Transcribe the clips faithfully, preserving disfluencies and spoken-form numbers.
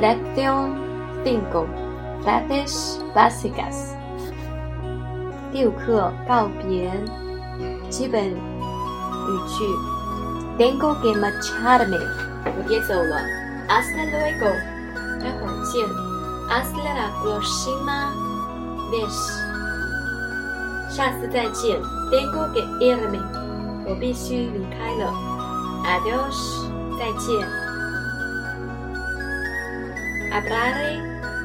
Lección cinco. Frases básicas. 第五课告别基本语句 Tengo que marcharme 我别走了 Hasta luego 待会儿见 Hasta la próxima vez 下次再见 Tengo que irme 我必须离开了 Adiós 再见 Hablaré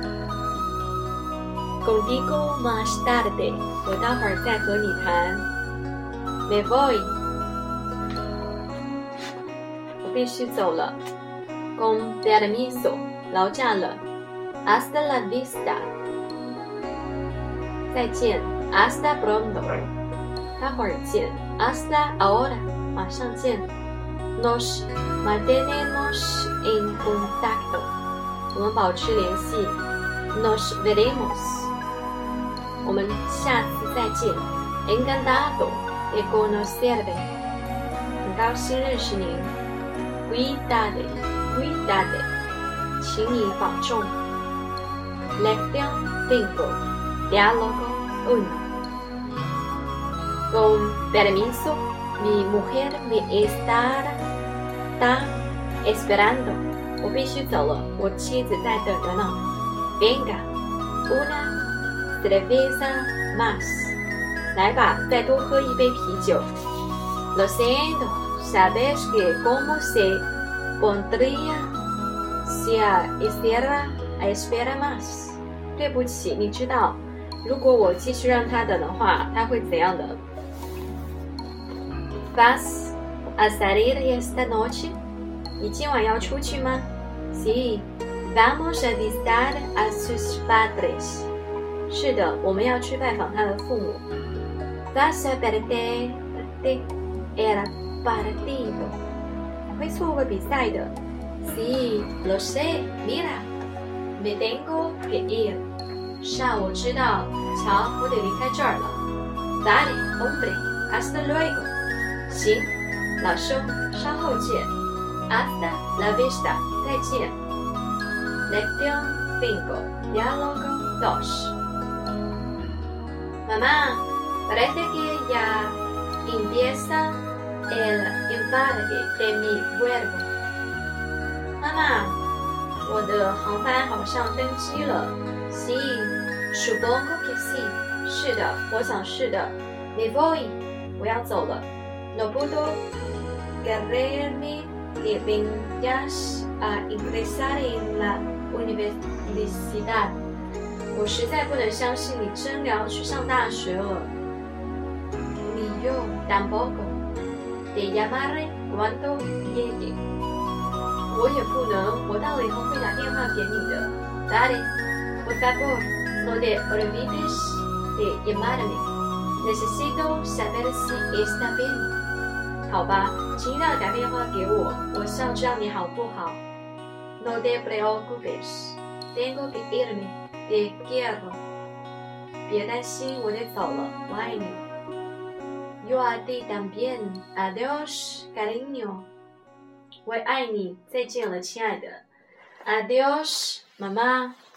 contigo más tarde 我待会儿再和你谈 Me voy 我必须走了 Con permiso 劳驾了 Hasta la vista 再见 Hasta pronto 待会儿见 Hasta ahora 马上见 Nos mantenemos en contacto 我们保持联系 Nos veremos 我们下次再见 Encantado de conocerle 很高兴认识您 Cuídate Cuídate 请你保重 Lección cinco Diálogo uno Con permiso mi mujer me está esperando 我必须走了我妻子在等着呢 Venga una cerveza más 来吧再多喝一杯啤酒 Lo siento sabes que como se pondría si hiciera espera más 对不起你知道如果我继续让他等的话他会怎样的 Vas a salir esta noche 你今晚要出去吗 Sí vamos a visitar a sus padres 是的我们要去拜访他的父母 Vas a perder el partido 会错过比赛的 Sí lo sé mira me tengo que ir 是啊我知道瞧我得离开这儿了 Vale hombre hasta luego 行老兄稍后见 Hasta la vista 再见 Lección cinco Diálogo dos Mamá parece que ya empieza el embarque de mi vuelo 妈妈我的航班好像登机了 Sí supongo que sí 是的我想是的 Me voy 我要走了 No puedo creerme que vayas a ingresar en la universidad 我实在不能相信你真的要去上大学了 Ni yo tampoco te llamaré cuando llegue 我也不能我到了以后会打电话给你的 Dale por favor no te olvides de llamarme necesito saber si está bien 好吧请一定要打电话给我我是要知道你好不好 No te preocupes tengo que irme te quiero 别担心我得走了我爱你 Yo a ti también adiós cariño 我也爱你再见了亲爱的 Adiós 妈妈